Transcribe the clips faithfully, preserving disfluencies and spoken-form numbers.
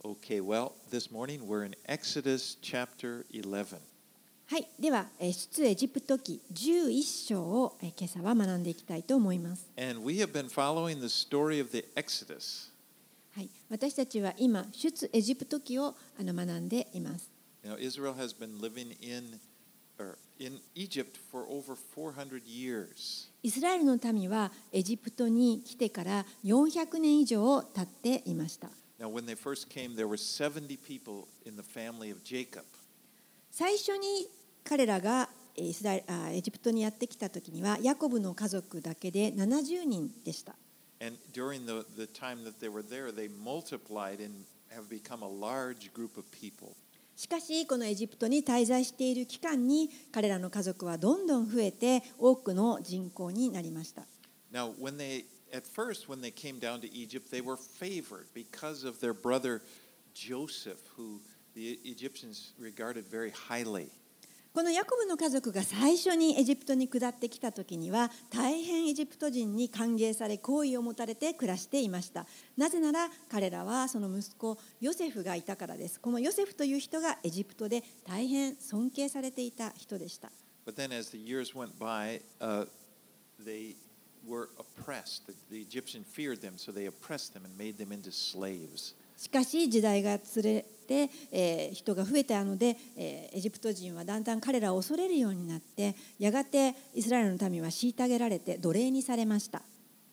Okay, well, this morning we're in Exodus chapter eleven. はい、では出エジプト記じゅういっ章を今朝は学んでいきたいと思います。 And we have been following the story of the Exodus. はい、私たちは今出エジプト記をあの学んでいます。 You know, Israel has been living in or in Egypt for over four hundred years. イスラエルの民はエジプトに来てからよんひゃくねん以上経っていました。 Now, when they first came, there were seventy people in the family of Jacob. 最初に彼らがイスラエルあエジプトにやってきた時にはヤコブの家族だけでななじゅうにんでした。 And during the, the time that they were there, they multiplied and have become a large group of people. しかしこのエジプトに滞在している期間に彼らの家族はどんどん増えて多くの人口になりました。 Now, when they at first, when they came down to Egypt, they were favored because of their brother Joseph, who the Egyptians regarded very highly. このヤコブの家族が最初にエジプトに下ってきた時には大変エジプト人に歓迎され好意を持たれて暮らしていました。なぜなら彼らはその息子ヨセフがいたからです。このヨセフという人がエジプトで大変尊敬されていた人でした。 But then as the years went by, uh, they were oppressed. The, the Egyptian feared them, so they oppressed them and made them into slaves. しかし時代が連れて、えー、人が増えたので、えー、エジプト人はだんだん彼らを恐れるようになってやがてイスラエルの民は虐げられて奴隷にされました。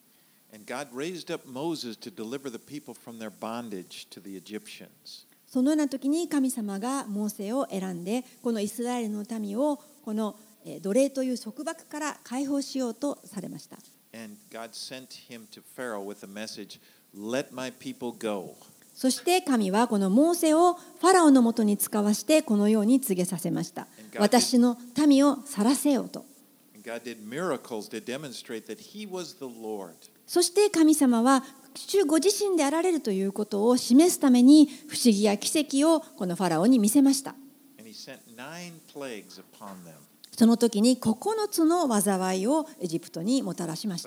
And God raised up Moses to deliver the people from their bondage to the Egyptians. そのような時に神様がモーセを選んでこのイスラエルの民をこの奴隷という束縛から解放しようとされました。 And God sent him to Pharaoh with a message, "Let my people go." そして神はこのモーセをファラオのもとに使わしてこのように告げさせました。私の民を去らせようと。そして神様は主ご自身であられるということを示すために不思議や奇跡をこのファラオに見せました。その時にここのつの災いをエジプトにもたらしました。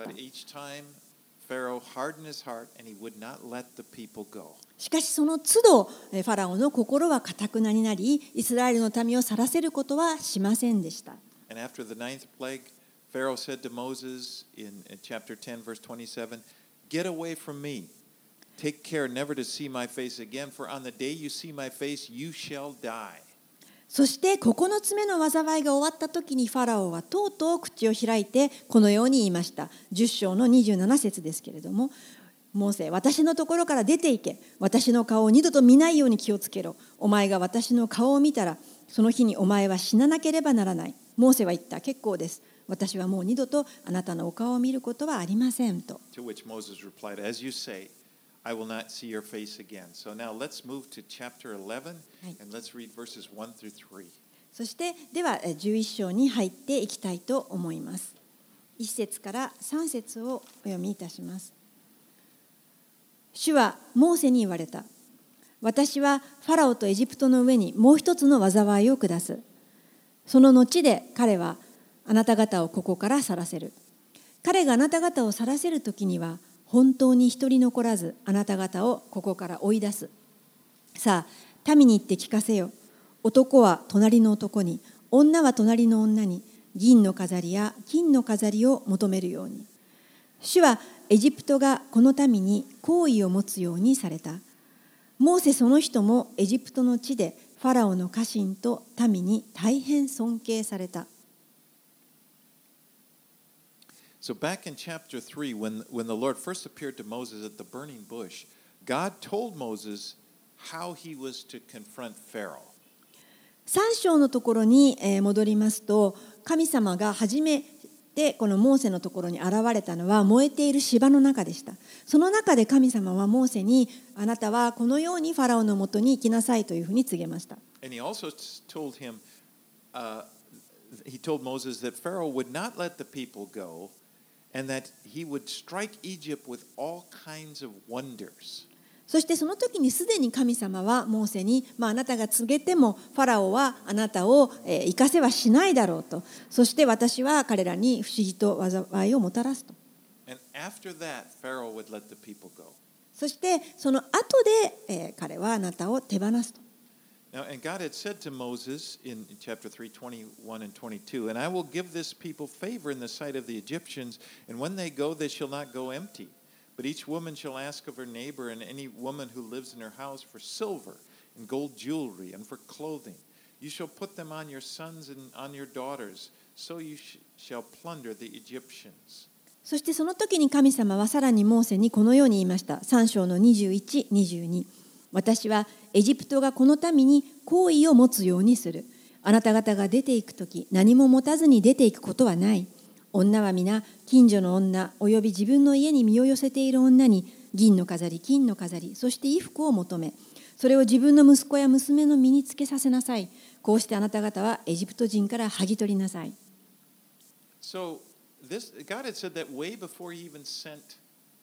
しかしその都度ファラオの心は堅くなになりイスラエルの民を去らせることはしませんでした。 And after the ninth plague, Pharaoh said to Moses in chapter ten, verse twenty-seven, "Get away from me. Take care never to see my face again, for on the day you see my face, you shall die." そしてここのつめの災いが終わった時にファラオはとうとう口を開いてこのように言いました。じゅっ章のにじゅうなな節ですけれども、モーセ、私のところから出て行け。私の顔を二度と見ないように気をつけろ。お前が私の顔を見たら、その日にお前は死ななければならない。モーセは言った。結構です。私はもう二度とあなたのお顔を見ることはありませんと。 To which Moses replied, "As you say, I will not see your face again." So now let's move to chapter eleven and let's read verses one through three. そしてではじゅういっ章に入っていきたいと思います。いち節からさん節をお読みいたします。主はモーセに言われた。私はファラオとエジプトの上にもう一つの災いを下す。その後で彼はあなた方をここから去らせる。彼があなた方を去らせる時には本当に一人残らずあなた方をここから追い出す。さあ民に言って聞かせよ。男は隣の男に、女は隣の女に銀の飾りや金の飾りを求めるように。主はエジプトがこの民に好意を持つようにされた。モーセその人もエジプトの地でファラオの家臣と民に大変尊敬された。 So back in chapter three, when, when the Lord first appeared to Moses at the burning bush, God told Moses how he was to confront Pharaoh. さん章のところに戻りますと、神様が初めてこのモーセのところに現れたのは燃えている芝の中でした。その中で神様はモーセに、あなたはこのようにファラオのもとに行きなさいというふうに告げました。 And he also told him, uh, he told Moses that Pharaoh would not let the people go and that he would strike Egypt with all kinds of wonders. そしてその時にすでに神様はモーセに、まあ、あなたが告げてもファラオはあなたを、えー、生かせはしないだろうと。そして私は彼らに不思議と災いをもたらすと。 And after that, Pharaoh would let the people go. そしてその後で、えー、彼ははあなたを手放すと。 Now, and God had said to Moses in chapter three, twenty-one and twenty-two, and I will give this people favor in the sight of the Egyptians, and when they go, they shall not go empty. But each woman shall ask of her neighbor and any woman who lives in her house for silver and gold jewelry and for clothing. You shall put them on your sons and on your daughters, so you sh- shall plunder the Egyptians. そしてその時に神様はさらにモーセにこのように言いました。さん章のにじゅういち、にじゅうに。私はエジプトがこの民に好意を持つようにする。あなた方が出ていくとき、何も持たずに出ていくことはない。女は皆近所の女および自分の家に身を寄せている女に銀の飾り、金の飾り、そして衣服を求め、それを自分の息子や娘の身につけさせなさい。こうしてあなた方はエジプト人から剥ぎ取りなさい。 So this God had said that way before he even sent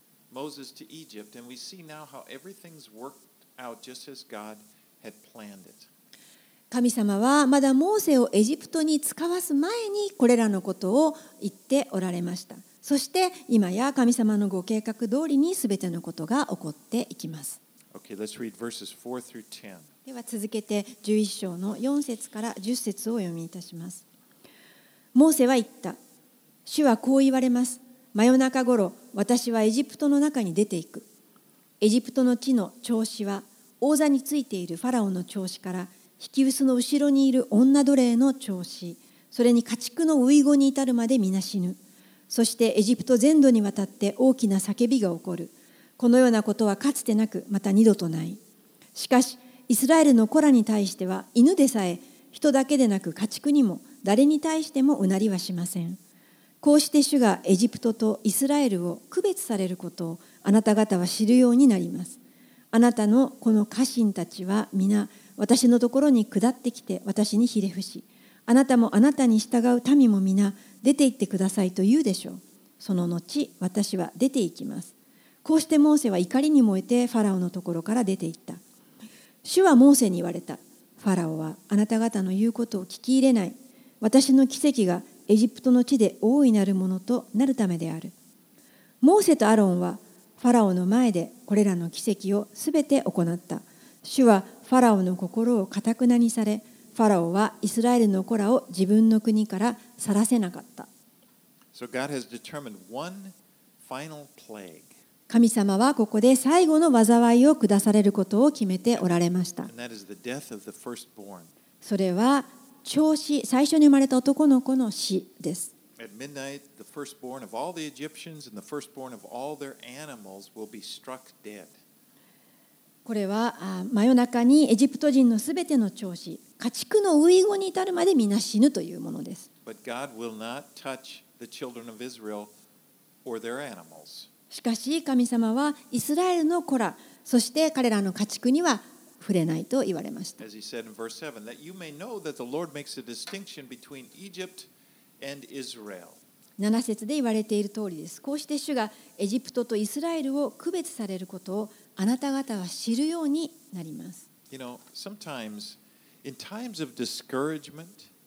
Moses to Egypt, and we see now how everything's worked out just as God had planned it. 神様はまだモーセをエジプトに使わす前にこれらのことを言っておられました。そして今や神様のご計画通りにすべてのことが起こっていきます。 Okay, let's read verses four through ten. では続けてじゅういち章のよん節からじゅっ節をお読みいたします。モーセは言った。主はこう言われます。真夜中ごろ、私はエジプトの中に出ていく。エジプトの地の長子は王座についているファラオの長子から引き臼の後ろにいる女奴隷の長子、それに家畜の遺語に至るまで皆死ぬ。そしてエジプト全土にわたって大きな叫びが起こる。このようなことはかつてなく、また二度とない。しかし、イスラエルの子らに対しては、犬でさえ人だけでなく家畜にも誰に対してもうなりはしません。こうして主がエジプトとイスラエルを区別されることをあなた方は知るようになります。あなたのこの家臣たちは皆私のところに下ってきて私にひれ伏し、あなたもあなたに従う民も皆出て行ってくださいと言うでしょう。その後私は出て行きます。こうしてモーセは怒りに燃えてファラオのところから出て行った。主はモーセに言われた。ファラオはあなた方の言うことを聞き入れない。私の奇跡がエジプトの地で大いなるものとなるためである。モーセとアロンはファラオの前でこれらの奇跡をすべて行った。主はファラオの心をかたくなにされ、ファラオはイスラエルの子らを自分の国から去らせなかった。 So God has determined one final plague. 神様はここで最後の災いを下されることを決めておられました。 And that is the death of the firstborn. それは長子、最初に生まれた男の子の死です。 At midnight, the firstborn of all the Egyptians and the firstborn of all their animals will be struck dead. これはあ真夜中にエジプト人のすべての長子、家畜の遺語に至るまで皆死ぬというものです。 But God will not touch the children of Israel or their animals. しかし神様はイスラエルの子ら、そして彼らの家畜には触れないと言われました。 As he said in verse seven, that you may know that the Lord makes a distinction between Egypt and Israel. なな節で言われている通りです。こうして主がエジプトとイスラエルを区別されることをあなた方は知るようになります。 You know, sometimes in times of discouragement,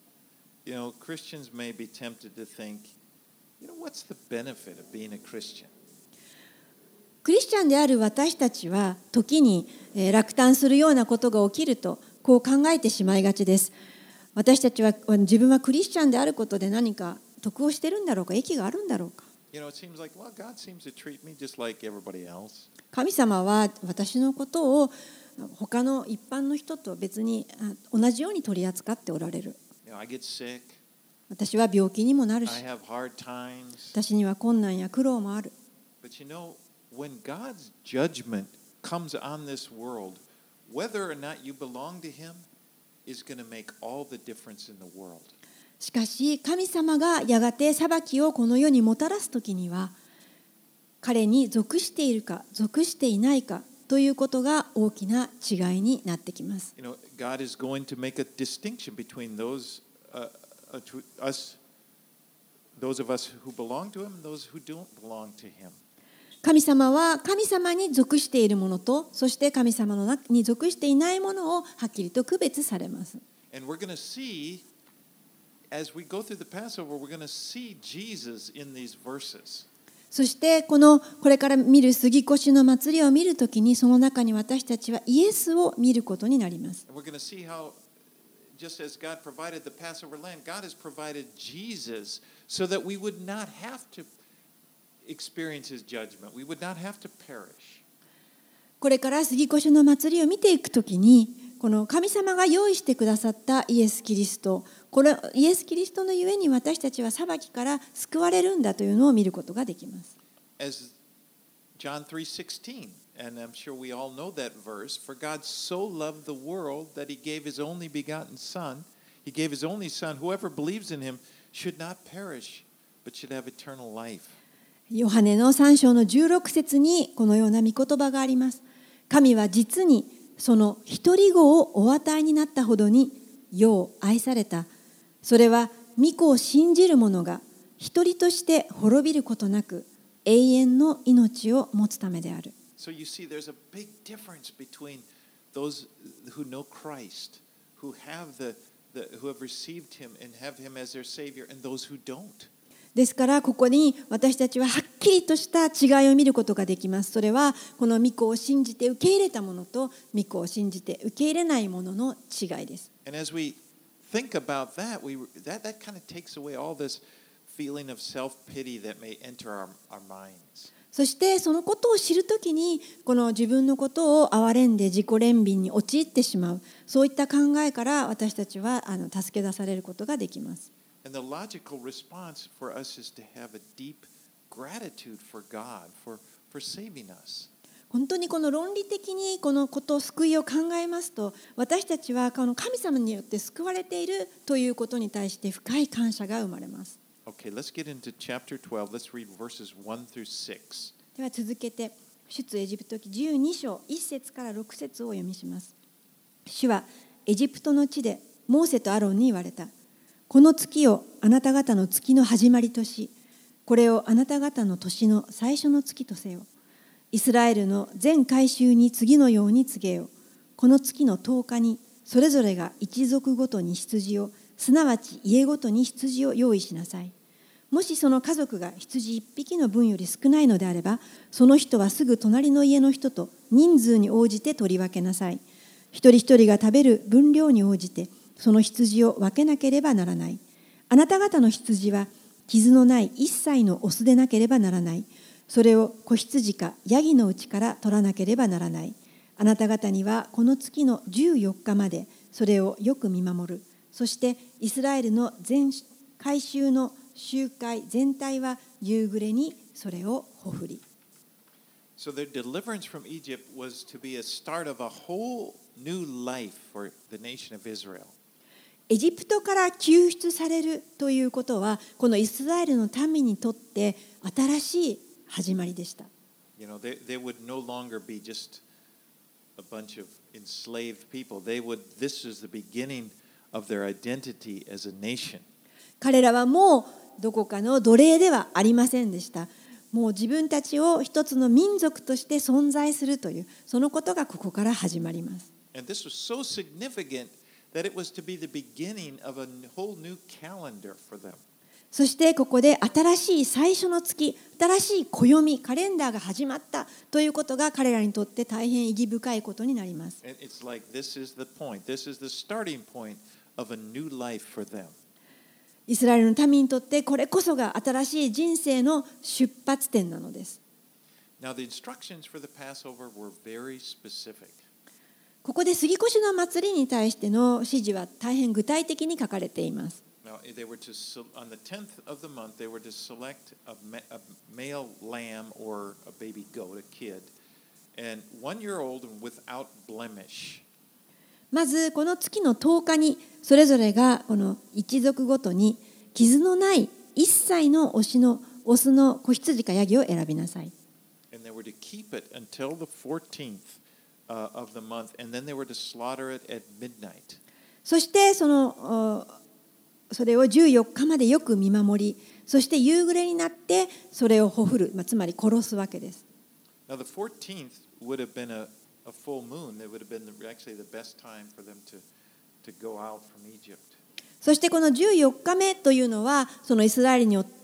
you know, Christians may be tempted to think, you know, what's the benefit of being a Christian? クリスチャンである私たちは時に落胆するようなことが起きるとこう考えてしまいがちです。私たちは自分はクリスチャンであることで何か得をしてるんだろうか、益があるんだろうか。 You know, it seems like, well, God seems to treat me just like everybody else. 神様は私のことを他の一般の人と別に同じように取り扱っておられる。 You know, I get sick. 私は病気にもなるし、 I have hard times. 私には困難や苦労もある。 But you know, when God's judgment comes on this world, whether or not you belong to Him is going to make all the difference in the world. しかし神様がやがて裁きをこの世にもたらすときには、彼に属しているか属していないかということが大きな違いになってきます。 You know, God is going to make a distinction between those uh, uh, to us, those of us who belong to Him, and those who don't belong to Him. 神様は神様に属しているものと、そして神様の中に属していないものをはっきりと区別されます。 And we're going to see, as we go through the Passover, we're going to see Jesus in these verses. そしてこのこれから見る杉越の祭りを見るときに、その中に私たちはイエスを見ることになります。 And we're going to see how, just as God provided the Passover lamb, God has provided Jesus so that we would not have to experience his judgment. We would not have to perish. これから杉越の祭りを見ていくときに、この神様が用意してくださったイエス・キリスト、これイエス・キリストのゆえに私たちは裁きから救われるんだというのを見ることができます。 As John three sixteen, and I'm sure we all know that verse, for God so loved the world that he gave his only begotten son, he gave his only son, whoever believes in him should not perish, but should have eternal life. ヨハネのさん章のじゅうろく節にこのような御言葉があります。神は実にその一人子をお与えになったほどに世を愛された。それは御子を信じる者が一人として滅びることなく永遠の命を持つためである。 So you see, there's a big difference between those who know Christ, who have the, the who have received him and have him as their Savior, and those who don't. ですからここに私たちははっきりとした違いを見ることができます。それはこの御子を信じて受け入れた者と御子を信じて受け入れない者の違いです。 And as we think about that, we that that kind of takes away all this feeling of self-pity that may enter our, our minds. そしてそのことを知るときにこの自分のことを憐れんで自己憐憫に陥ってしまう、そういった考えから私たちはあの助け出されることができます。 And the logical response for us is to have a deep gratitude for God for for saving us. 本当にこの論理的にこのことを救いを考えますと、私たちはこの神様によって救われているということに対して深い感謝が生まれます。 Okay, let's get into chapter twelve. Let's read verses one through six. では続けて出エジプト記じゅうに章いち節からろく節をお読みします。主はエジプトの地でモーセとアロンに言われた。この月をあなた方の月の始まりとし、これをあなた方の年の最初の月とせよ。イスラエルの全改宗に次のように告げよ。この月のとおかにそれぞれが一族ごとに羊を、すなわち家ごとに羊を用意しなさい。もしその家族が羊一匹の分より少ないのであれば、その人はすぐ隣の家の人と人数に応じて取り分けなさい。一人一人が食べる分量に応じて、その羊を分けなければならない。あなた方の羊は傷のない一切のオスでなければならない。それを子羊かヤギのうちから取らなければならない。あなた方にはこの月のじゅうよっかまでそれをよく見守る。そしてイスラエルの全改宗の集会全体は夕暮れにそれをほふり。 So their deliverance from Egypt was to be a start of a whole new life for the nation of Israel. エジプトから救出されるということは、このイスラエルの民にとって新しい始まりでした。 You know, they, they would no longer be just a bunch of enslaved people. They would, this is the beginning of their identity as a nation. 彼らはもうどこかの奴隷ではありませんでした。もう自分たちを一つの民族として存在するという、そのことがここから始まります。 And this was so significant that it was to be the beginning of a whole new calendar for them. そしてここで新しい最初の月、新しい暦、カレンダーが始まったということが彼らにとって大変意義深いことになります。 And it's like this is the point. This is the starting point of a new life for them. イスラエルの民にとってこれこそが新しい人生の出発点なのです。 Now the instructions for the Passover were very specific. ここで杉越の祭りに対しての指示は大変具体的に書かれています。 Now, they were to, on the tenth of the month, they were to select a, a male lamb or a baby goat, a kid, and one year old and without blemish. まずこの月のとおかにそれぞれがこの一族ごとに傷のない一切の推しのオスの子羊かヤギを選びなさい。 And they were to keep it until the fourteenth uh, of the month, and then they were to slaughter it at midnight. そしてそのそれをじゅうよっかまでよく見守り、そして夕暮れになってそれをほふる、まあ、つまり殺すわけです。 Now the fourteenth would have been a, a full moon. It would have been the, actually the best time for them to, to go out from Egypt. そしてこのじゅうよっかめというのはそのイスラエルに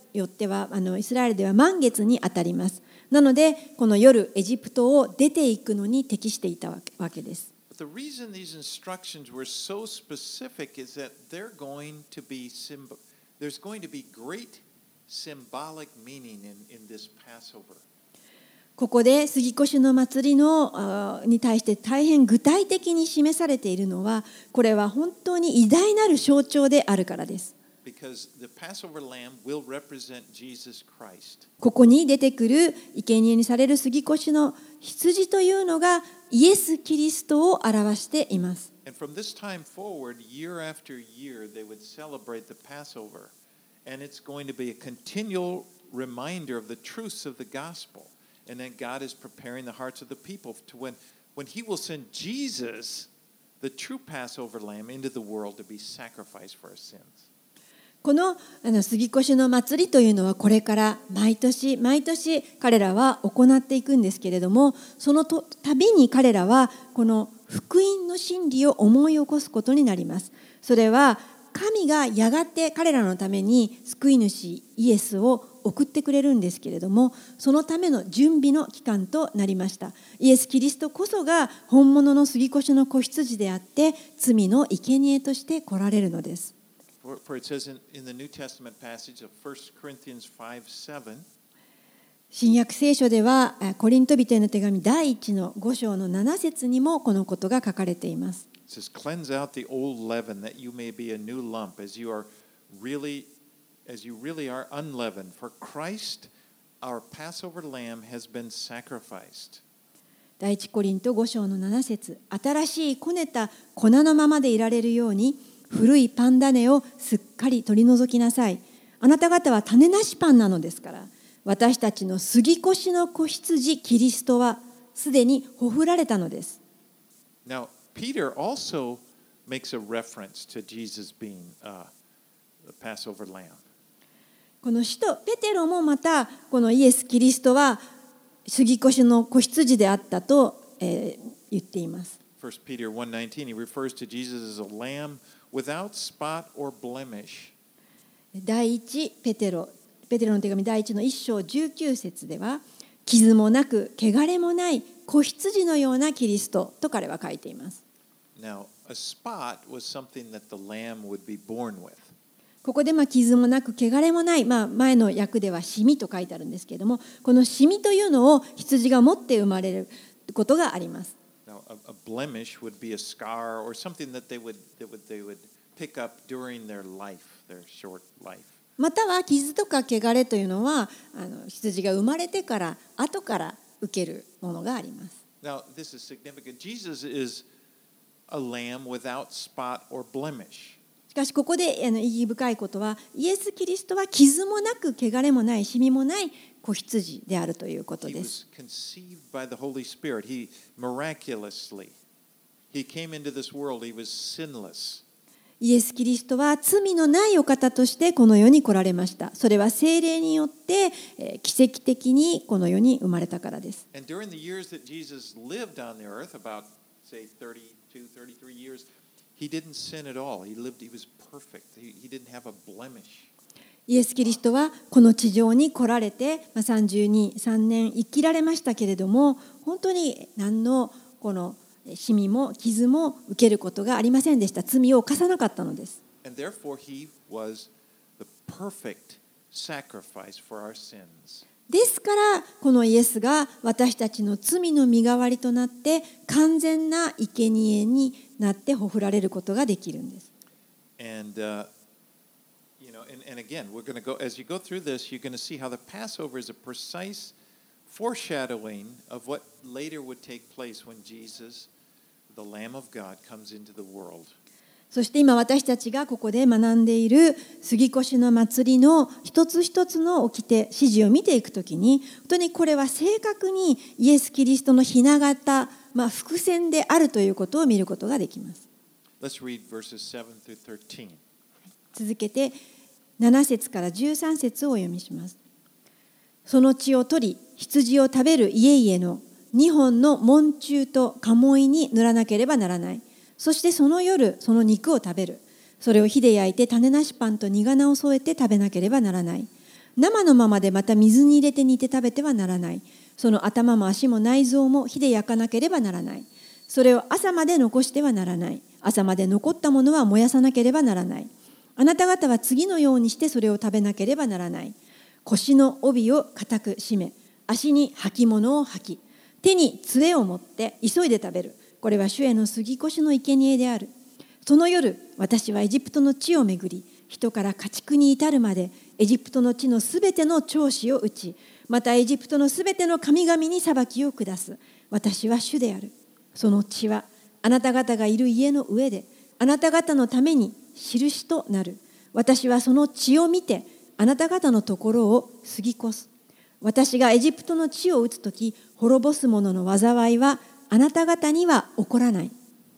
よってはあのイスラエルでは満月にあたります。なのでこの夜エジプトを出ていくのに適していたわけです。 The reason these instructions were so specific is that they're going to be symbol. There's going to be great symbolic meaning in, in this Passover. ここで杉越の祭りのに対して大変具体的に示されているのは、これは本当に偉大なる象徴であるからです。 Because the Passover lamb will represent Jesus Christ. ここに出てくる生贄にされる杉越の羊というのがイエス・キリストを表しています。 And from this time forward, year after year, they would celebrate the Passover. And it's going to be a continual reminder of the truths of the gospel. And then God is preparing the hearts of the people to when, when He will send Jesus, the true Passover lamb, into the world to be sacrificed for our sins. この、あの杉越の祭りというのはこれから毎年毎年彼らは行っていくんですけれども、そのとたびに彼らはこの福音の真理を思い起こすことになります。それは神がやがて彼らのために救い主イエスを送ってくれるんですけれども、そのための準備の期間となりました。イエス・キリストこそが本物の杉越の子羊であって罪の生贄として来られるのです。 For, for it says in, in the New Testament passage of First Corinthians five seven, 新約聖書ではコリント人への手紙第一のご章のなな節にもこのことが書かれています。 It says, "Cleanse out the old leaven, that you may be a new lump, as you are really, as you really are unleavened. For Christ, our Passover lamb, has been sacrificed." 第一コリントご章のなな節、新しいこねた粉のままでいられるように古いパン種をすっかり取り除きなさい。あなた方は種なしパンなのですから、私たちの杉越の子羊キリストはすでにほふられたのです。 Now, Peter also makes a reference to Jesus being uh, the Passover lamb. この使徒ペテロもまたこのイエス・キリストは杉越の子羊であったと、えー、言っています。 First Peter one nineteen, he refers to Jesus as a lamb without spot or blemish. 第一ペテロペテロの手紙第一の一章じゅうきゅう節では、傷もなく汚れもない子羊のようなキリストと彼は書いています。 Now, a spot was something that the lamb would be born with. ここでまあ傷もなく汚れもない、まあ、前の訳ではシミと書いてあるんですけれども、このシミというのを羊が持って生まれることがあります。 Now, a, a blemish would be a scar or something that they would, that would, they would pick up during their life, their short life. または傷とか汚れというのはあの羊が生まれてから後から受けるものがあります。 Now, this is significant. Jesus is a lamb without spot or blemish. しかしここであの意義深いことは、イエス・キリストは傷もなく汚れもないシミもない子羊であるということで He す。 was conceived by the Holy Spirit. He miraculously, he came into this world. He was sinless. イエス・キリストは罪のないお方としてこの世に来られました。それは聖霊によってえー奇跡的にこの世に生まれたからです。 And during the years that Jesus lived on the earth, about say thirty-two, thirty-three years, he didn't sin at all. He lived, he was perfect. He, he didn't have a blemish. イエス・キリストはこの地上に来られて、まあ、さんじゅうに、さんねん生きられましたけれども、本当に何のこのシミも傷も受けることがありませんでした。罪を犯さなかったのです。 And therefore, he was the perfect sacrifice for our sins. ですからこのイエスが私たちの罪の身代わりとなって完全な生贄になってほふられることができるんです。 And, uh, you know, and, and again, we're going to go, as you go through this, you're going to see how the Passover is a precise foreshadowing of what later would take place when Jesus, the Lamb of God, comes into the world. そして今私たちがここで学んでいる杉越の祭りの一つ一つの掟、指示を見ていくときに、本当にこれは正確にイエス・キリストの雛形、まあ、伏線であるということを見ることができます。 Let's read verses seven through thirteen. 続けてなな節からじゅうさん節をお読みします。その血を取り、羊を食べる家々のにほんの門柱と鴨居に塗らなければならない。そしてその夜、その肉を食べる。それを火で焼いて種なしパンと苦菜を添えて食べなければならない。 生のままでまた水に入れて煮て食べてはならない。その頭も足も内臓も火で焼かなければならない。それを朝まで残してはならない。朝まで残ったものは燃やさなければならない。あなた方は次のようにしてそれを食べなければならない。腰の帯を固く締め、足に履物を履き、手に杖を持って急いで食べる。これは主への杉越の生贄である。その夜、私はエジプトの地を巡り、人から家畜に至るまでエジプトの地のすべての長子を打ち、またエジプトのすべての神々に裁きを下す。私は主である。その血はあなた方がいる家の上で、あなた方のために印となる。私はその血を見て、あなた方のところを過ぎ越す。私がエジプトの地を打つとき、滅ぼす者の災いはあなた方には起こらない。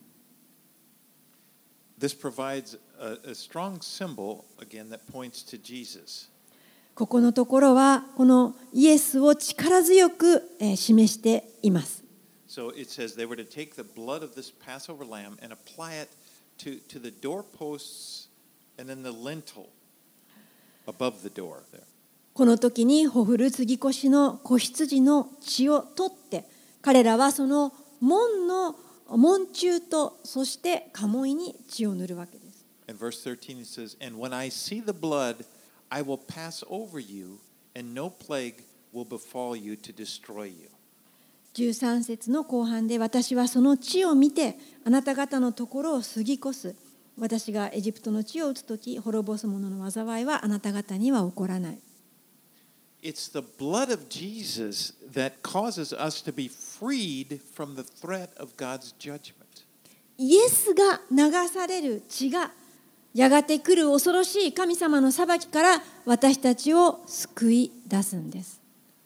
This provides a, a strong symbol, again, that points to Jesus. ここのところは、このイエスを力強く示しています。 So it says they were to take the blood of this Passover lamb and apply it to, to the doorposts and then the lintel above the door there. この時にほふる杉越の子羊の血を取って、彼らはその門の門柱とそして家紋に血を塗るわけです。 In verse thirteen it says, "And when I see the blood, I will pass over you, and no plague will befall you to destroy you." じゅうさん節の後半で、私はその地を見てあなた方のところを過ぎ越す。私がエジプトの地を打つとき、滅ぼす者の災いはあなた方には起こらない。 It's the blood of Jesus that causes us to be freed from the threat of God's judgment. イエスが流される血がやがて来る恐ろしい神様の裁きから私たちを救い出すんです。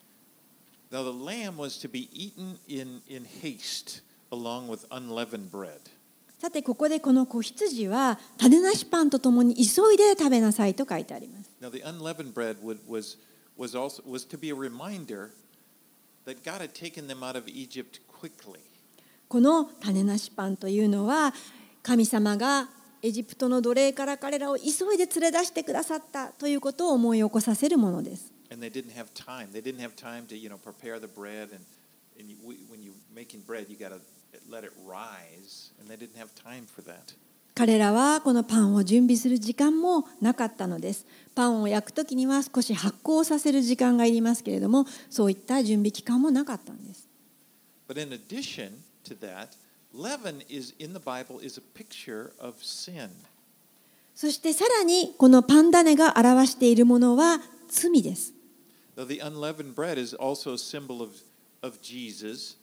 Now the lamb was to be eaten in, in haste along with unleavened bread. さてここでこの子羊は種なしパンとともに急いで食べなさいと書いてあります。 Now the unleavened bread would, was, was, also, was to be a reminder that God had taken them out of Egypt quickly. この種なしパンというのは神様がエジプトの奴隷から彼らを急いで連れ出してくださったということを思い起こさせるものです。 And they didn't have time. They didn't have time to, you know, prepare the bread. And, and you, when you're making bread, you got to let it rise. And they didn't have time for that. 彼らはこのパンを準備する時間もなかったのです。パンを焼くときには少し発酵させる時間がいりますけれども、そういった準備期間もなかったんです。 But in addition to that, leaven is in the Bible is a picture of sin. そしてさらにこのパン種が表しているものは罪です。 Though the unleavened bread is also a symbol of, of Jesus,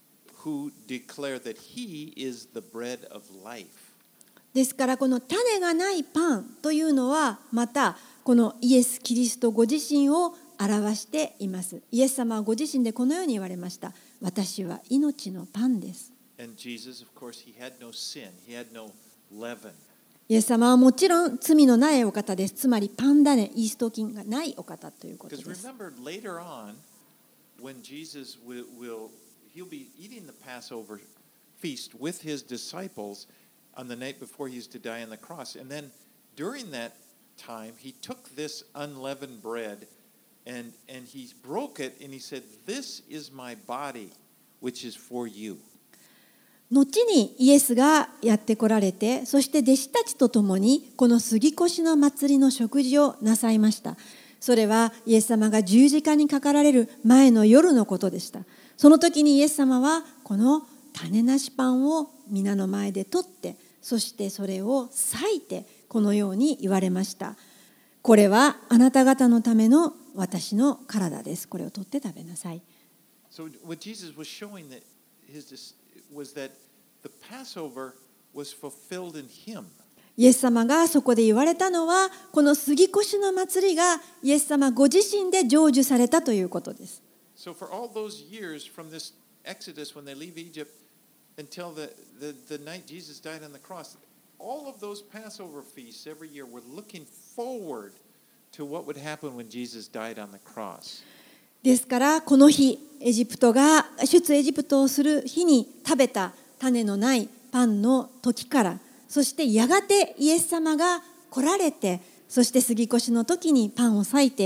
who declared that he is the bread of life. ですからこの種がないパンというのはまたこのイエス・キリストご自身を表しています。イエス様はご自身でこのように言われました。私は命のパンです。 And Jesus, of course, he had no sin. He had no leaven. イエス様はもちろん罪のないお方です。つまりパン種、イースト菌がないお方ということで Because す。 remember later on, when Jesus will, will he'll be eating the Passover feast with his disciples on the night before he's to die on the cross. And then during that time, he took this unleavened bread and, and he broke it and he said, "This is my body, which is for you." 後にイエスがやってこられて、そして弟子たちと共にこの杉越の祭りの食事をなさいました。それはイエス様が十字架にかかられる前の夜のことでした。その時にイエス様はこの種なしパンを皆の前で取って、そしてそれを裂いてこのように言われました。これはあなた方のための私の体です。これを取って食べなさい。 So what Jesus was showing that his was that the Passover was fulfilled in him. イエス様がそこで言われたのは、この杉越の祭りがイエス様ご自身で成就されたということです。 So for all those years from this Exodus when they leave Egypt until the, the, the night Jesus died on the cross, all of those Passover feasts every year were looking forward to what would happen when Jesus died on the cross. ですからこの日、エジプトが出エジプトをする日に食べた種のないパンの時から、そしてやがてイエス様が来られて、そして杉越の時にパンを裂いて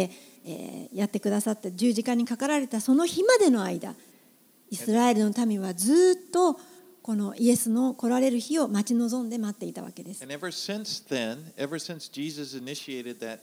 えーやってくださった十字架にかかられたその日までの間、イスラエルの民はずっとこのイエスの来られる日を待ち望んで待っていたわけです。 And ever since then, ever since Jesus initiated that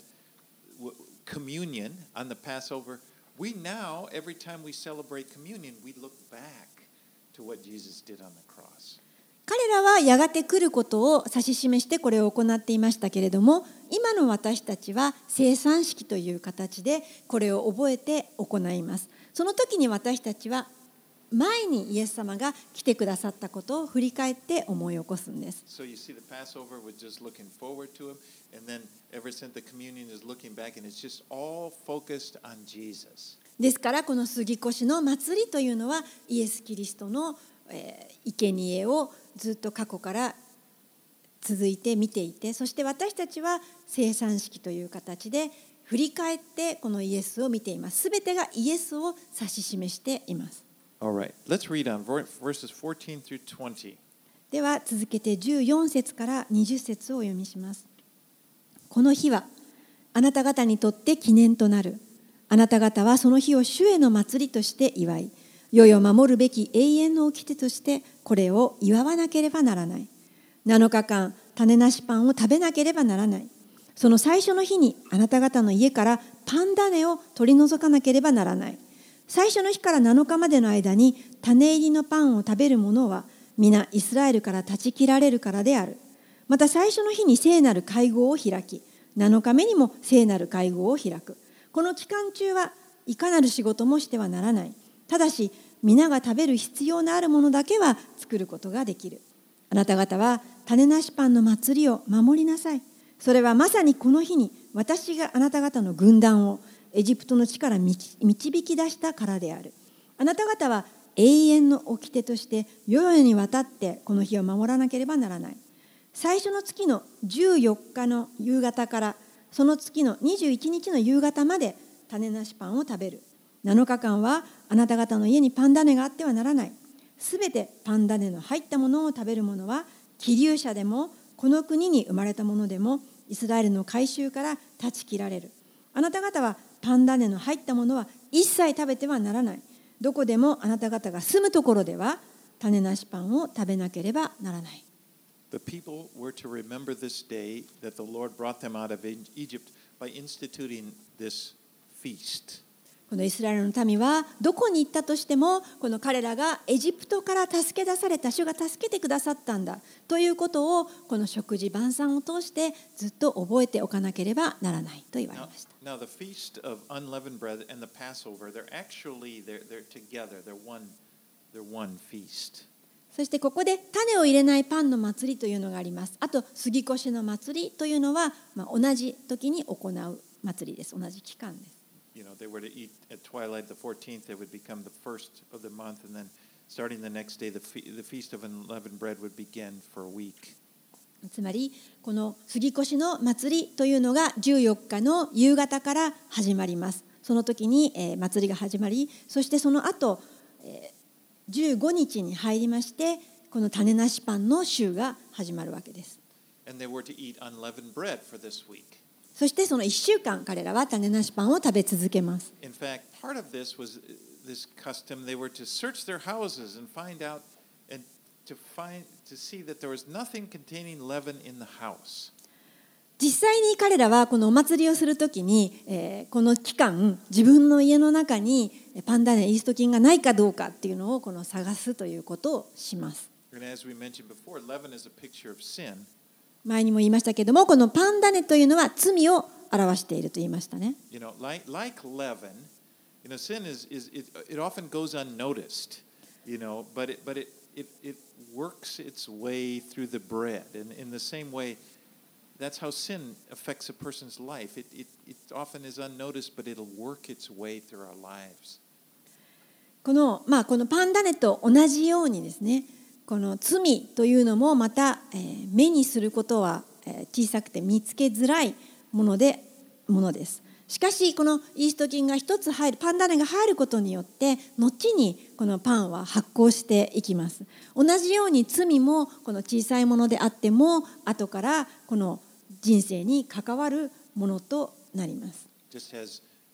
w- communion on the Passover, we now, every time we celebrate communion, we look back to what Jesus did on the cross. 彼らはやがて来ることを指し示してこれを行っていましたけれども、今の私たちは聖餐式という形でこれを覚えて行います。その時に私たちは前にイエス様が来てくださったことを振り返って思い起こすんです。 So you see, the Passover was just looking forward to him, and then ever since the communion is looking back, and it's just all focused on Jesus. ですからこの杉越の祭りというのはイエス・キリストの、えー、生贄をずっと過去から続いて見ていて、そして私たちは聖餐式という形で振り返ってこのイエスを見ています。すべてがイエスを指し示しています。 All right, let's read on verses fourteen through twenty. では続けてじゅうよん節からにじゅっ節をお読みします。この日はあなた方にとって記念となる。あなた方はその日を主への祭りとして祝い、世々守るべき永遠の掟としてこれを祝わなければならない。なのかかん種なしパンを食べなければならない。その最初の日にあなた方の家からパン種を取り除かなければならない。最初の日からなのかまでの間に種入りのパンを食べる者は皆イスラエルから断ち切られるからである。また最初の日に聖なる会合を開き、なのかめにも聖なる会合を開く。この期間中はいかなる仕事もしてはならない。ただし皆が食べる必要のあるものだけは作ることができる。あなた方は種なしパンの祭りを守りなさい。それはまさにこの日に私があなた方の軍団をエジプトの地から導き出したからである。あなた方は永遠の掟として世々にわたってこの日を守らなければならない。最初の月のじゅうよっかの夕方からその月のにじゅういちにちの夕方まで種なしパンを食べる。なのかかんはあなた方の家にパン種があってはならない。すべてパン種の入ったものを食べる者は寄留者でもこの国に生まれた者でもイスラエルの改宗から断ち切られる。あなた方はパン種の入ったものは一切食べてはならない。どこでもあなた方が住むところでは種なしパンを食べなければならない。 The people were to remember this day that the Lord brought them out of Egypt by instituting this feast. このイスラエルの民はどこに行ったとしてもこの彼らがエジプトから助け出された主が助けてくださったんだということをこの食事晩餐を通してずっと覚えておかなければならないと言われました。 Now, now the feast of unleavened bread and the Passover, they're actually they're they're together. They're one they're one feast. そしてここで種を入れないパンの祭りというのがあります。あと杉越の祭りというのは、まあ、同じ時に行う祭りです。同じ期間です。 You know, they were to eat at twilight the fourteenth. They would become the first of the month, and then starting the next day, the fe- the feast of unleavened bread would begin for a week. つまりこの杉越の祭りというのがじゅうよっかの夕方から始まります。その時に、えー、祭りが始まり、そしてその後、えー、じゅうごにちに入りましてこの種なしパンの週が始まるわけです。 And they were to eat unleavened bread for this week. そしてそのいっしゅうかん彼らは種なしパンを食べ続けます。 In fact, part of this was this custom. They were to search their houses and find out and to find to see that there was nothing containing leaven in the house. 実際に彼らはこのお祭りをするときに、えー、この期間自分の家の中にパン種イースト菌がないかどうかっていうのをこの探すということをします。 And as we mentioned before, leaven is a picture of sin. 前にも言いましたけども、このパン種というのは罪を表していると言いましたね。 You know, like like leaven, you know, sin is is it it often goes unnoticed, you know, but it but it it it works its way through the bread, and in the same way, that's how sin affects a person's life. It it it often is unnoticed, but it'll work its way through our lives. このまあこのパン種と同じようにですね。この罪というのもまた、えー、目にすることは、えー、小さくて見つけづらいものでものです。しかしこのイースト菌が一つ入るパン種が入ることによって後にこのパンは発酵していきます。同じように罪もこの小さいものであっても後からこの人生に関わるものとなります。 Just as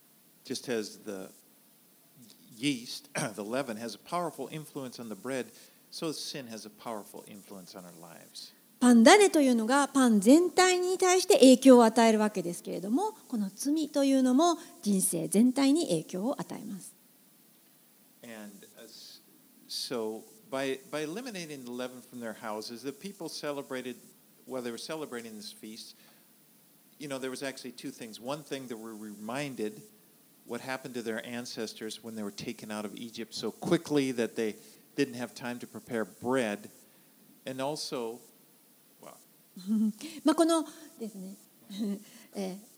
just as the yeast, the leaven, has a powerful influence on the bread, so sin has a powerful influence on our lives. パンダネというのがパン全体に対して影響を与えるわけですけれども、この罪というのも人生全体に影響を与えます。 And uh, so by, by eliminating the leaven from their houses, the people celebrated, while they were celebrating this feast, you know, there was actually two things. One thing, they were reminded what happened to their ancestors when they were taken out of Egypt so quickly that they didn't have time to prepare bread. And also, well, まあこのですね、えー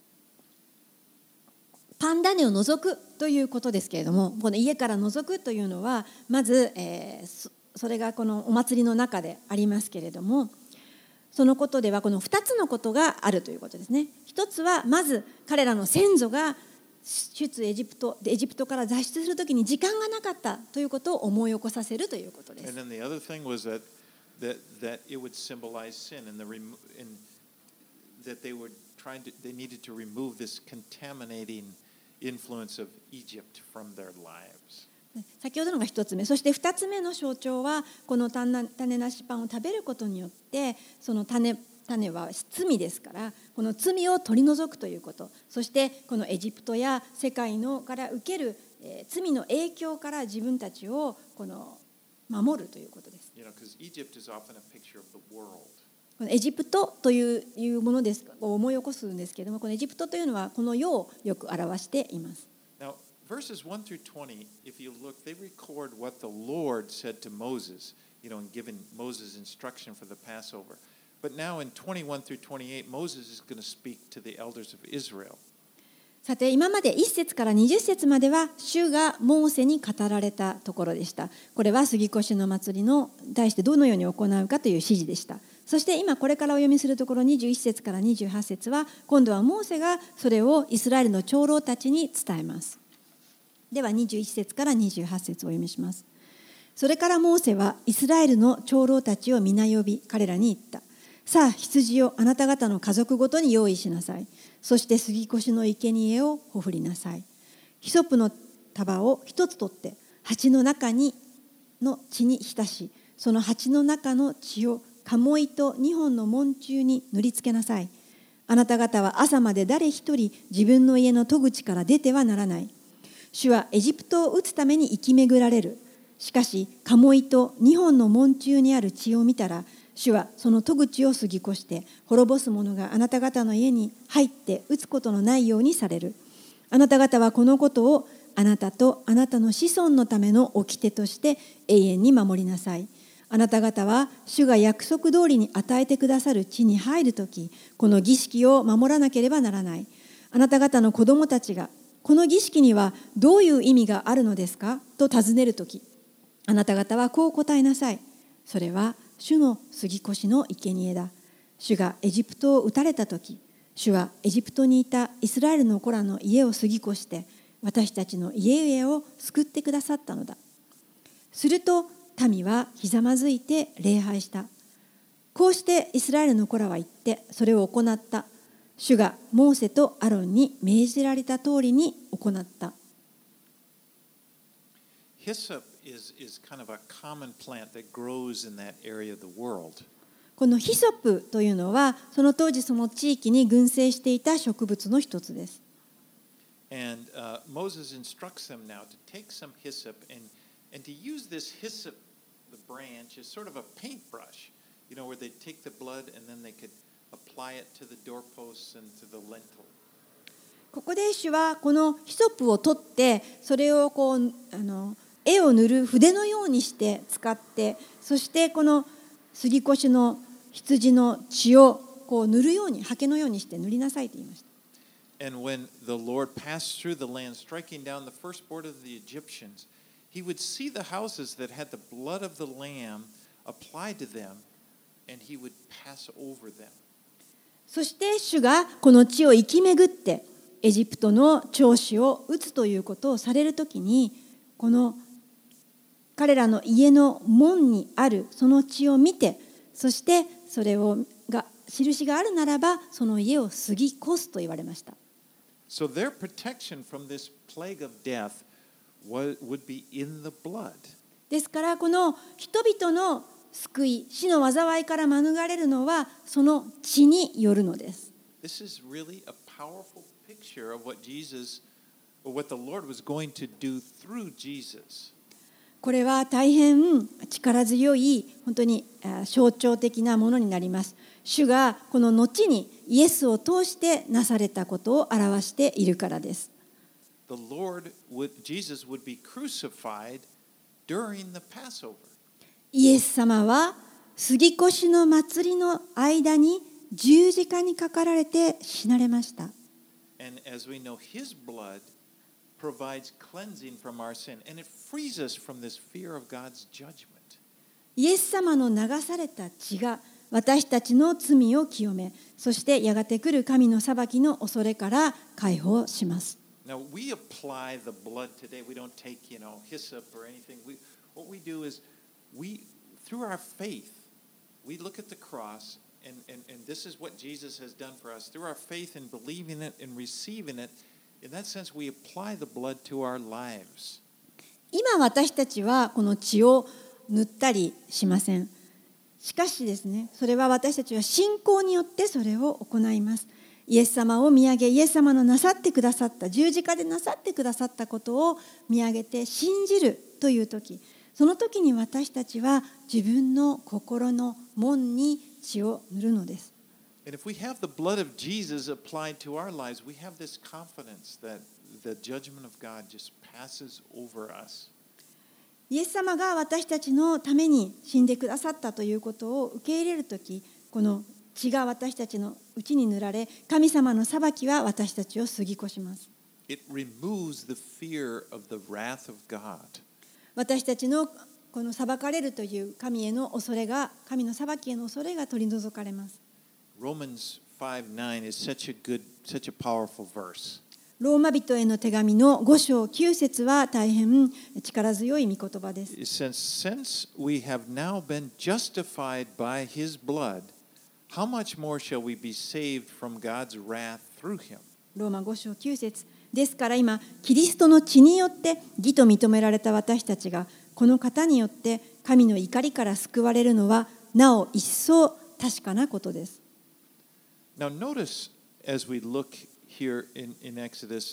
パンダネを除くということですけれども、この家から除くというのはまず、えー、そ, それがこのお祭りの中でありますけれども、そのことではこのふたつのことがあるということですね。一つはまず彼らの先祖が出エジプトエジプトから脱出するときに時間がなかったということを思い起こさせるということです。 And then the other thing was that that that it would symbolize sin, and the remo- and that they were trying to they needed to remove this contaminating influence of Egypt from their lives. 先ほどのが一つ目、そして二つ目の象徴はこの種なしパンを食べることによってその種種は罪ですから、この罪を取り除くということ、そしてこのエジプトや世界のから受ける、えー、罪の影響から自分たちをこの守るということです。 You know, because Egypt is often a picture of the world. このエジプトといういうものですを思い起こすんですけれども、このエジプトというのはこの世をよく表しています。 Now, verses one through twenty, if you look, they record what the Lord said to Moses, you know, in giving Moses instruction for the Passover. But now in twenty-one through twenty-eight, Moses is going to speak to the elders of Israel. さて今までいっ節からにじゅっ節までは主がモーセに語られたところでした。これは杉越の祭りの対してどのように行うかという指示でした。そして今これからお読みするところにじゅういっ節からにじゅうはち節は今度はモーセがそれをイスラエルの長老たちに伝えます。ではにじゅういっ節からにじゅうはち節をお読みします。それからモーセはイスラエルの長老たちを皆呼び彼らに言った。さあ羊をあなた方の家族ごとに用意しなさい。そして杉越の生贄をほふりなさい。ヒソップの束を一つ取って鉢の中にの血に浸し、その鉢の中の血を鴨居と二本の門柱に塗りつけなさい。あなた方は朝まで誰一人自分の家の戸口から出てはならない。主はエジプトを打つために生き巡られる。しかし鴨居と二本の門柱にある血を見たら、主はその戸口を過ぎ越して滅ぼす者があなた方の家に入って打つことのないようにされる。あなた方はこのことをあなたとあなたの子孫のための掟として永遠に守りなさい。あなた方は主が約束通りに与えてくださる地に入るとき、この儀式を守らなければならない。あなた方の子供たちがこの儀式にはどういう意味があるのですかと尋ねるとき、あなた方はこう答えなさい。それは主の杉越の生贄だ。主がエジプトを撃たれたとき、主はエジプトにいたイスラエルの子らの家を過ぎ越して私たちの家々を救ってくださったのだ。すると民はひざまずいて礼拝した。こうしてイスラエルの子らは言ってそれを行った。主がモーセとアロンに命じられた通りに行った。 Hyssop is, is kind of a common plant that grows in that area of the world. このヒソップというのはその当時その地域に群生していた植物の一つです。 And uh, Moses instructs them now to take some hyssop and, and to use this hyssop, the branch, as sort of a paintbrush, you know, where they take the blood and then they could apply it to the doorposts and to the lintel. ここで主はこのヒソップを取ってそれをこうあの絵を塗る筆のようにして使って、そしてこの杉越の羊の血をこう塗るように刷毛のようにして塗りなさいと言いました。 And when the Lord passed through the land, striking down the firstborn of the Egyptians, he would see the houses that had the blood of the lamb applied to them, and he would pass over them. そして主がこの地を生き巡ってエジプトの長子を打つということをされるときに、この彼らの家の門にあるその血を見て、そしてそれをが印があるならばその家を過ぎ越すと言われました。 So their protection from this plague of death was, would be in the blood. ですからこの人々の救い、死の災いから免れるのはその血によるのです。 This is really a powerful picture of what Jesus, or what the Lord was going to do through Jesus. これは大変力強い本当に象徴的なものになります。主がこの後にイエスを通してなされたことを表しているからです。 The Lord would, Jesus would be crucified during the Passover. イエス様は杉越の祭りの間に十字架にかかられて死なれました。 And as we know, His blood provides cleansing from our sin, and it frees us from this fear of God's judgment. イエス様の流された血が私たちの罪を清め、そしてやがて来る神の裁きの恐れから解放します。 Now we apply the blood today. We don't take, you know, hyssop or anything. We, what we do is we, through our faith, we look at the cross, and, and, and this is what Jesus has done for us. Through our faith in believing it and receiving it, in that sense, we apply the blood to our lives. 今私たちはこの血を塗ったりしません。しかしですね、それは私たちは信仰によってそれを行います。イエス様を見上げ、イエス様のなさってくださった、十字架でなさってくださったことを見上げて信じるという時、その時に私たちは自分の心の門に血を塗るのです。 And if we have the blood of Jesus applied to our lives, we have this confidence that the judgment of God just passes over us. イエス様が私たちのために死んでくださったということを受け入れるとき、この血が私たちのうちに塗られ、神様の裁きは私たちを過ぎ越します。 It removes the fear of the wrath of God. 私たちのこの裁かれるという神への恐れが、神の裁きへの恐れが取り除かれます。 Romans five nine is such a good, such a powerful verse. ローマ人への手紙のご章きゅう節は大変力強い御言葉です。 It says, since we have now been justified by His blood, how much more shall we be saved from God's wrath through Him? ローマご章きゅう節ですから今、キリストの血によって義と認められた私たちが、この方によって神の怒りから救われるのは、なお一層確かなことです。 Now notice as we look here in, in Exodus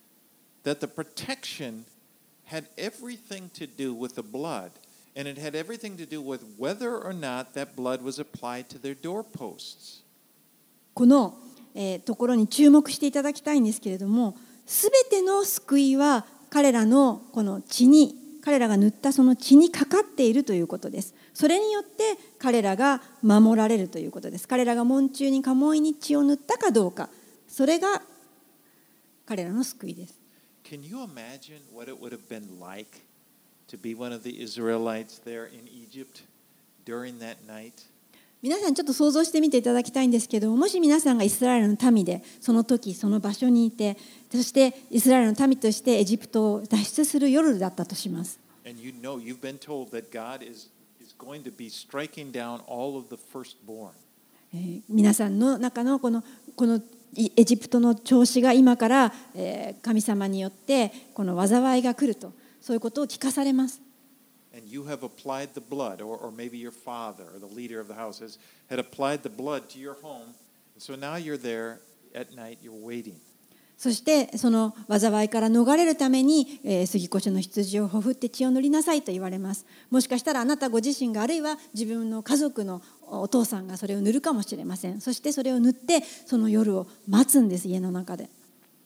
that the protection had everything to do with the blood, and it had everything to do with whether or not that blood was applied to their doorposts. この、えー、ところに注目していただきたいんですけれども、すべての救いは彼らのこの血に、彼らが塗ったその血にかかっているということです。それによって彼らが守られるということです。彼らが門中に鴨居に血を塗ったかどうか、それが彼らの救いです。 Can you imagine what it would have been like to be one of the Israelites there in Egypt during that night? 皆さんちょっと想像してみていただきたいんですけど、もし皆さんがイスラエルの民でその時その場所にいて、そしてイスラエルの民としてエジプトを脱出する夜だったとします。 And you know, you've been told that God is, is going to be striking down all of the firstborn. えー、皆さんの中のこのこのエジプトの調子が今から、えー、神様によってこの災いが来ると、そういうことを聞かされます。 And you have applied the blood, or, or maybe your father or the leader of the house has, had applied the blood to your home. And so now you're there at night, you're waiting. そしてその災いから逃れるために、えー、杉越の羊をほふって血を塗りなさいと言われます。もしかしたらあなたご自身が、あるいは自分の家族のお父さんがそれを塗るかもしれません。そしてそれを塗ってその夜を待つんです、家の中で。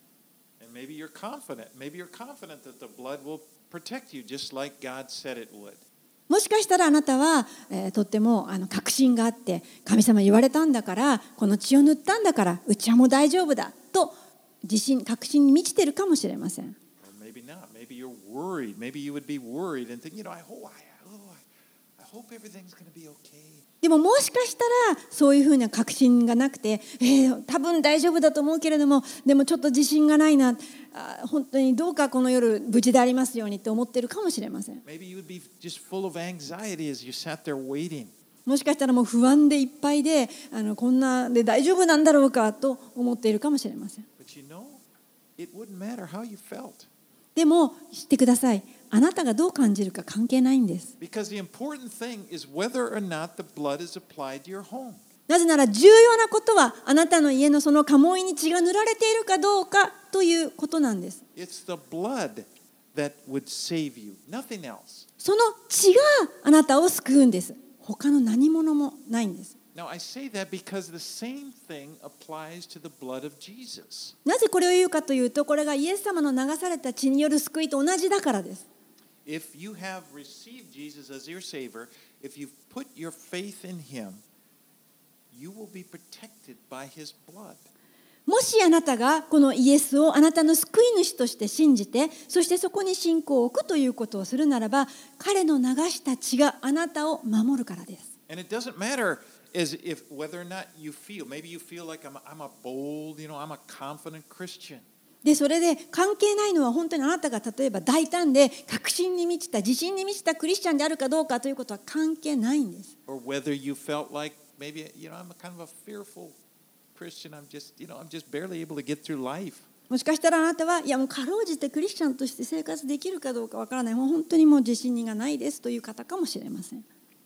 And maybe you're confident. Maybe you're confident that the blood will protect you just like God said it would. もしかしたらあなたは、えー、とってもあの確信があって、神様言われたんだから、この血を塗ったんだからうちはもう大丈夫だと自信、確信に満ちているかもしれません。 Or maybe not. Maybe you're worried. Maybe you would be worried and think, you know, I hope, I, oh, I hope everything's going to be okay. でももしかしたらそういうふうな確信がなくて、えー、多分大丈夫だと思うけれども、でもちょっと自信がないな、あ、本当にどうかこの夜無事でありますようにって思っているかもしれません。 Maybe you would be just full of anxiety as you sat there waiting. もしかしたらもう不安でいっぱいで、あのこんなで大丈夫なんだろうかと思っているかもしれません。 But you know, it wouldn't matter how you felt. でも知ってください。あなたがどう感じるか関係ないんです。 Because the important thing is whether or not the blood is applied to your home. なぜなら重要なことはあなたの家のその家紋に血が塗られているかどうかということなんです。 It's the blood that would save you, nothing else. その血があなたを救うんです。他の何者もないんです。 Now I say that because the same thing applies to the blood of Jesus. なぜこれを言うかというと、これがイエス様の流された血による救いと同じだからです。 If you have received Jesus as your Savior, if you've put your faith in Him, you will be protected by His blood. もしあなたがこのイエスをあなたの救い主として信じて、そしてそこに信仰を置くということをするならば、彼の流した血があなたを守るからです。 And it doesn't matter as if whether or not you feel, maybe you feel like I'm a, I'm a bold, you know, I'm a confident Christian. でそれで関係ないのは本当にあなたが例えば大胆で確信に満ちた自信に満ちたクリスチャンであるかどうかということは関係ないんです。 Or whether you felt like maybe, you know, I'm a kind of a fearful Christian. I'm just, you know, I'm just barely able to get through life. もしかしたらあなたはいやもうかろうじてクリスチャンとして生活できるかどうかわからない、もう本当にもう自信がないですという方かもしれません。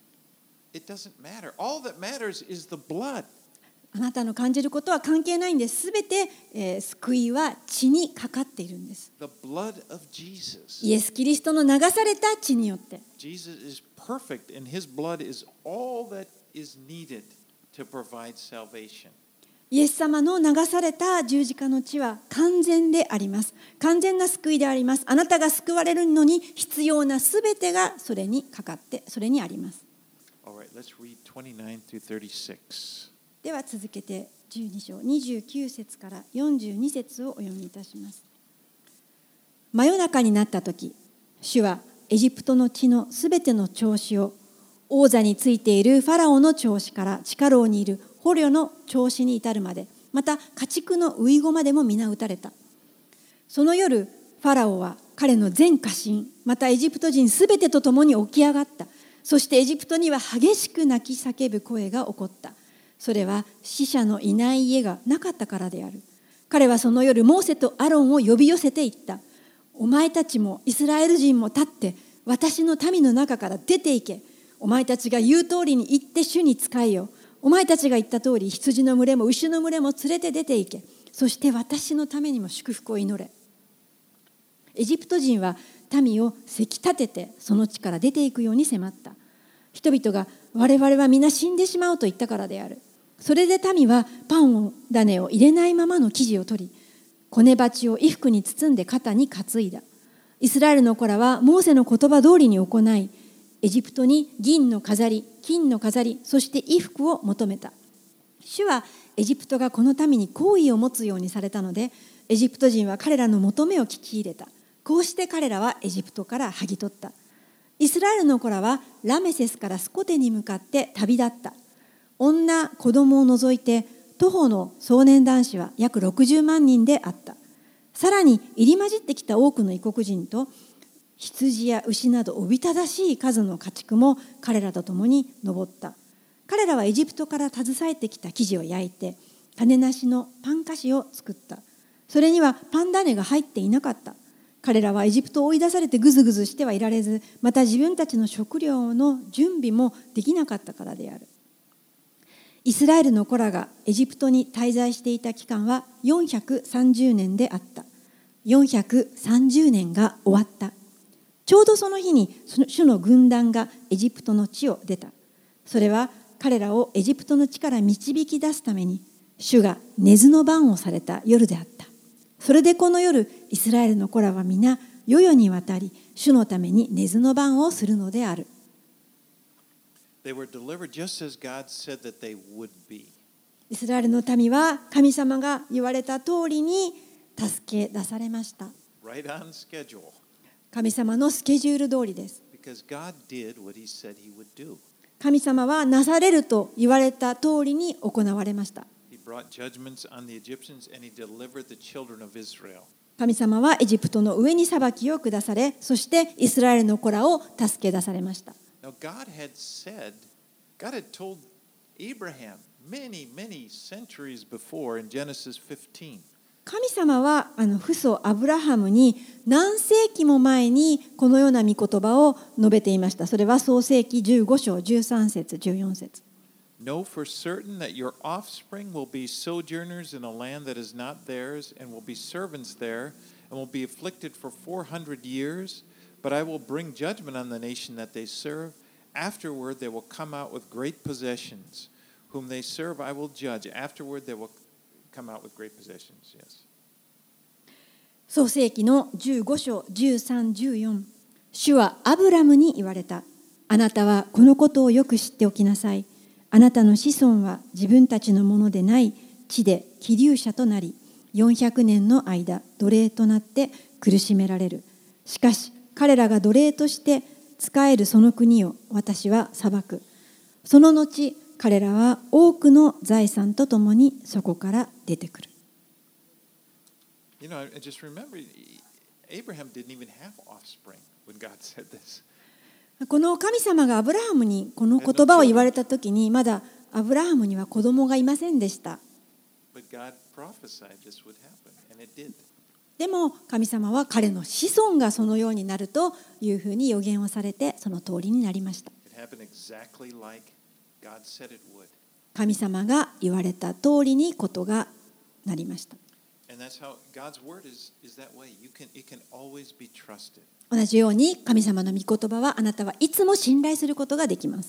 It doesn't matter. All that matters is the blood. あなたの感じることは関係ないんです。すべて、えー、救いは血にかかっているんです。 The blood of Jesus. イエス・キリストの流された血によって。 Jesus is perfect and His blood is all that is needed to provide salvation. イエス様の流された十字架の血は完全であります。完全な救いであります。あなたが救われるのに必要なすべてがそれにかかって、それにあります。 All right, let's read twenty-nine through thirty-six. では続けてじゅうに章にじゅうきゅう節からよんじゅうに節をお読みいたします。真夜中になった時、主はエジプトの地のすべての長子を王座についているファラオの長子から地下牢にいる捕虜の長子に至るまで、また家畜の遺語までも皆撃たれた。その夜、ファラオは彼の全家臣、またエジプト人すべてと共に起き上がった。そしてエジプトには激しく泣き叫ぶ声が起こった。それは死者のいない家がなかったからである。彼はその夜、モーセとアロンを呼び寄せて言った。お前たちもイスラエル人も立って、私の民の中から出て行け。お前たちが言う通りに行って主に仕えよ。お前たちが言った通り、羊の群れも牛の群れも連れて出て行け。そして私のためにも祝福を祈れ。エジプト人は民をせき立ててその地から出ていくように迫った。人々が我々は皆死んでしまうと言ったからである。それで民はパンを種を入れないままの生地を取り、こね鉢を衣服に包んで肩に担いだ。イスラエルの子らはモーセの言葉通りに行い、エジプトに銀の飾り、金の飾り、そして衣服を求めた。主はエジプトがこの民に好意を持つようにされたので、エジプト人は彼らの求めを聞き入れた。こうして彼らはエジプトから剥ぎ取った。イスラエルの子らはラメセスからスコテに向かって旅立った。女、子供を除いて徒歩の壮年男子は約ろくじゅうまんにんであった。さらに入り混じってきた多くの異国人と羊や牛などおびただしい数の家畜も彼らと共に登った。彼らはエジプトから携えてきた生地を焼いて種なしのパン菓子を作った。それにはパン種が入っていなかった。彼らはエジプトを追い出されてぐずぐずしてはいられず、また自分たちの食料の準備もできなかったからである。イスラエルの子らがエジプトに滞在していた期間はよんひゃくさんじゅうねんであった。よんひゃくさんじゅうねんが終わった。ちょうどその日に主の軍団がエジプトの地を出た。それは彼らをエジプトの地から導き出すために主が寝ずの番をされた夜であった。それでこの夜、イスラエルの子らは皆世々にわたり主のために寝ずの番をするのである。 They were delivered just as God said that they would be. イスラエルの民は神様が言われた通りに助け出されました。 Right on schedule. 神様のスケジュール通りです。 Because God did what He said He would do. 神様はなされると言われた通りに行われました。 He brought judgments on the Egyptians and He delivered the children of Israel. 神様はエジプトの上に裁きを下され、そしてイスラエルの子らを助け出されました。 Now God had said, God had told Abraham many, many centuries before in Genesis fifteen. 神様はあの父祖アブラハムに何世紀も前にこのような御言葉を述べていました。それは創世記じゅうご章じゅうさん節じゅうよん節。 Know for certain that your offspring will be sojourners in a land that is not theirs, and will be servants there, and will be afflicted for four hundred years. But I will bring judgment on the nation that they serve. Afterward, they will come out with great possessions. Whom they serve, I will judge. Afterward, they will come out with great possessions. Yes. 創世記のじゅうご章じゅうさん、じゅうよん。主はアブラムに言われた。あなたはこのことをよく知っておきなさい。あなたの子孫は自分たちのものでない地で寄留者となり、よんひゃくねんの間奴隷となって苦しめられる。しかし彼らが奴隷として仕えるその国を私は裁く。その後彼らは多くの財産とともにそこから出てくる。 You know, I just remember Abraham didn't even have offspring when God said this. この神様がアブラハムにこの言葉を言われたときに、まだアブラハムには子供がいませんでした。でも神様は彼の子孫がそのようになるというふうに予言をされて、その通りになりました。神様が言われた通りにことがなりました。同じように神様の御言葉はあなたはいつも信頼することができます。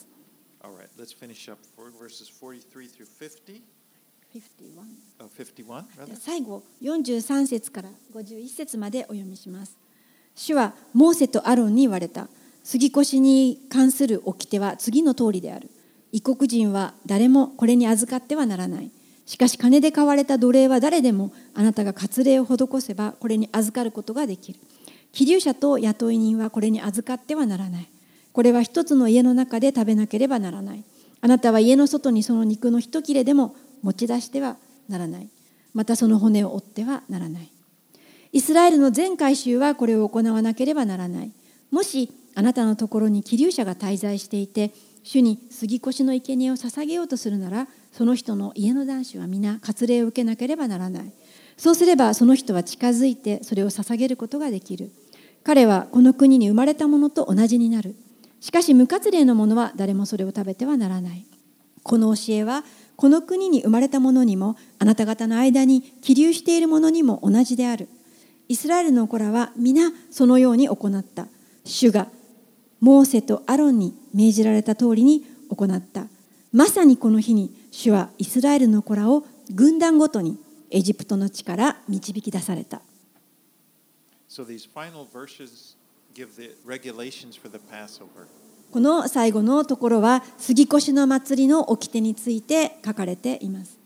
最後よんじゅうさん節からごじゅういち節までお読みします。主はモーセとアロンに言われた。杉越に関する掟は次の通りである。異国人は誰もこれに預かってはならない。しかし金で買われた奴隷は誰でもあなたが割礼を施せばこれに預かることができる。寄留者と雇い人はこれに預かってはならない。これは一つの家の中で食べなければならない。あなたは家の外にその肉の一切れでも持ち出してはならない。またその骨を折ってはならない。イスラエルの全会衆はこれを行わなければならない。もしあなたのところに寄留者が滞在していて、主に杉越の生贄を捧げようとするなら、その人の家の男子は皆割礼を受けなければならない。そうすればその人は近づいてそれを捧げることができる。彼はこの国に生まれたものと同じになる。しかし無割礼の者は誰もそれを食べてはならない。この教えはこの国に生まれた者にもあなた方の間に寄留している者にも同じである。イスラエルの子らは皆そのように行った。主がモーセとアロンに命じられた通りに行った。まさにこの日に主はイスラエルの子らを軍団ごとにエジプトの地から導き出された。 So these final verses give the regulations for the Passover. この最後のところは杉越の祭りの掟について書かれています。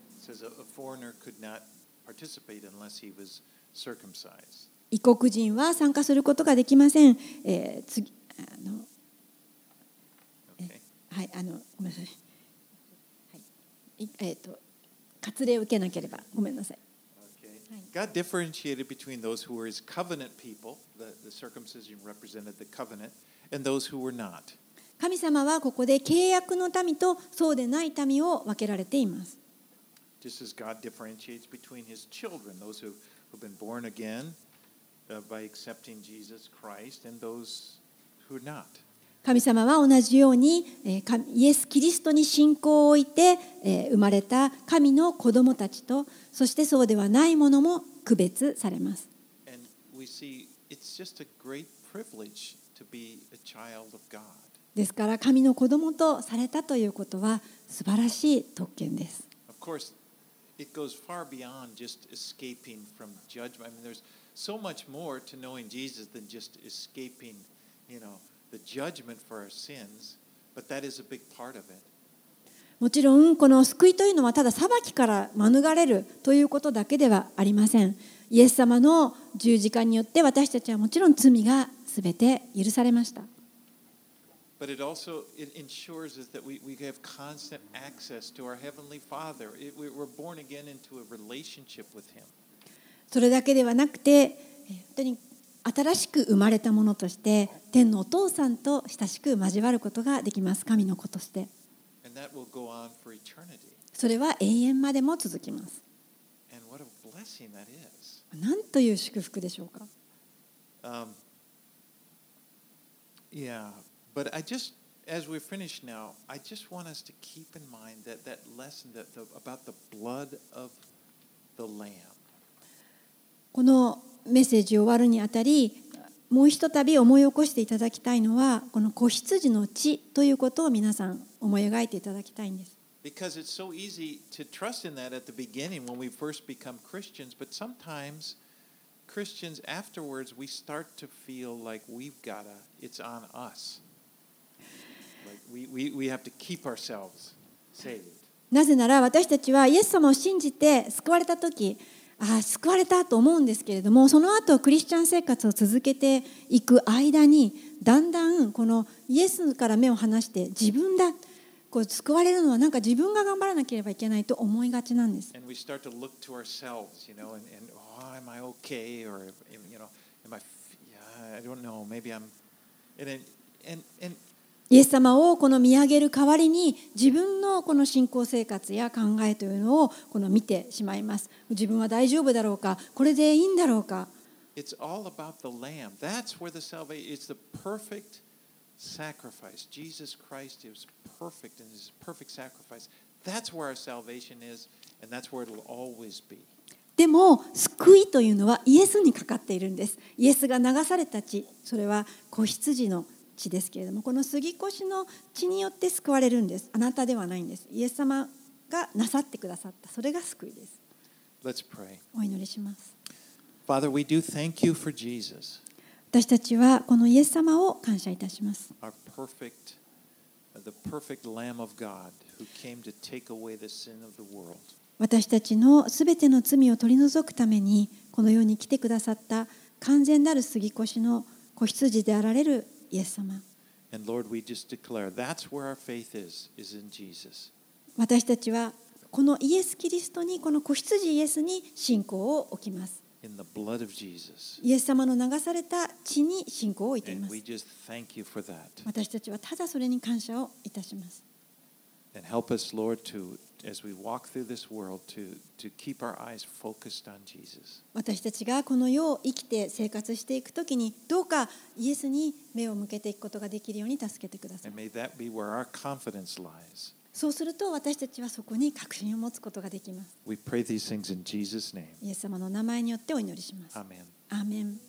異国人は参加することができません。えー、次あの、okay. はいあのごめんなさい。はい、えっ、ー、と割礼を受けなければごめんなさい。 God differentiated between those who were his covenant people, the, the circumcision represented the covenant, and those who were not. 神様はここで契約の民とそうでない民を分けられています。 Just as God differentiates between his children, those who have been born again uh, by accepting Jesus Christ, and those who are not. 神様は同じようにイエス・キリストに信仰を置いて生まれた神の子供たちと、そしてそうではないものも区別されます。ですから神の子供とされたということは素晴らしい特権です。 Of course, it goes far beyond just escaping from judgment. I mean, there's so much more to knowing Jesus than just escaping, you know.The judgment for our sins, but that is a big part of it. もちろんこの救いというのはただ裁きから免れるということだけではありません。イエス様の十字架によって私たちはもちろん罪がすべて許されました。 But it also it ensures us that we we have constant access to our heavenly Father. It, we're born again into a relationship with Him. それだけではなくて、本当に新しく生まれたものとして天のお父さんと親しく交わることができます。神の子として。それは永遠までも続きます。 blessing that is. なんという祝福でしょうか。 Um, yeah, but I just, as we're finished now, I just want us to keep in mind that that lesson that the, about the blood of the Lamb. このメッセージを終わるにあたり、もうひとたび思い起こしていただきたいのは、この子羊の血ということを皆さん思い描いていただきたいんです。 Because it's so easy to trust in that at the beginning when we first become Christians, but sometimes Christians afterwards we start to feel like we've got to, it's on us. Like we, we, we have to keep ourselves saved. なぜなら私たちはイエス様を信じて救われたとき、ああ救われたと思うんですけれども、その後クリスチャン生活を続けていく間にだんだんこのイエスから目を離して自分だ、こう救われるのはなんか自分が頑張らなければいけないと思いがちなんです。 And we start to look to ourselves, you know, and, and oh, am I okay? Or, you know, am I, yeah, I don't know, maybe I'm, and, and, and, イエス様をこの見上げる代わりに自分のこの信仰生活や考えというのをこの見てしまいます。自分は大丈夫だろうか、これでいいんだろうか。 It's all about the Lamb. That's where the salvation, it's the perfect sacrifice. Jesus Christ is perfect in his perfect sacrifice. That's where our salvation is, and that's where it'll always be. でも救いというのはイエスにかかっているんです。イエスが流された血、それは子羊の血ですけれども、この杉越の血によって救われるんです。あなたではないんです。イエス様がなさってくださった、それが救いです。 Let's pray. お祈りします。 Father, we do thank you for Jesus, 私たちはこのイエス様を感謝いたします。 our perfect, the perfect Lamb of God who came to take away the sin of the world. 私たちのすべての罪を取り除くためにこの世に来てくださった完全なる杉越の子羊であられるイエス様。 And Lord, we just declare that's where our faith is, is in Jesus. 私たちはこのイエス・キリストに、この子羊イエスに信仰を置きます。 In the blood of Jesus. イエス様の流された血に信仰を置いてい And ます。 we just thank you for that. 私たちはただそれに感謝をいたします。 And help us, Lord, to, as we walk through this world, to, to keep our eyes focused on Jesus. 私たちがこの世を生きて生活していくときに、どうかイエスに目を向けていくことができるように助けてください。 And may that be where our confidence lies. そうすると私たちはそこに確信を持つことができます。 We pray these things in Jesus' name. イエス様の名前によってお祈りします。 Amen. アーメン。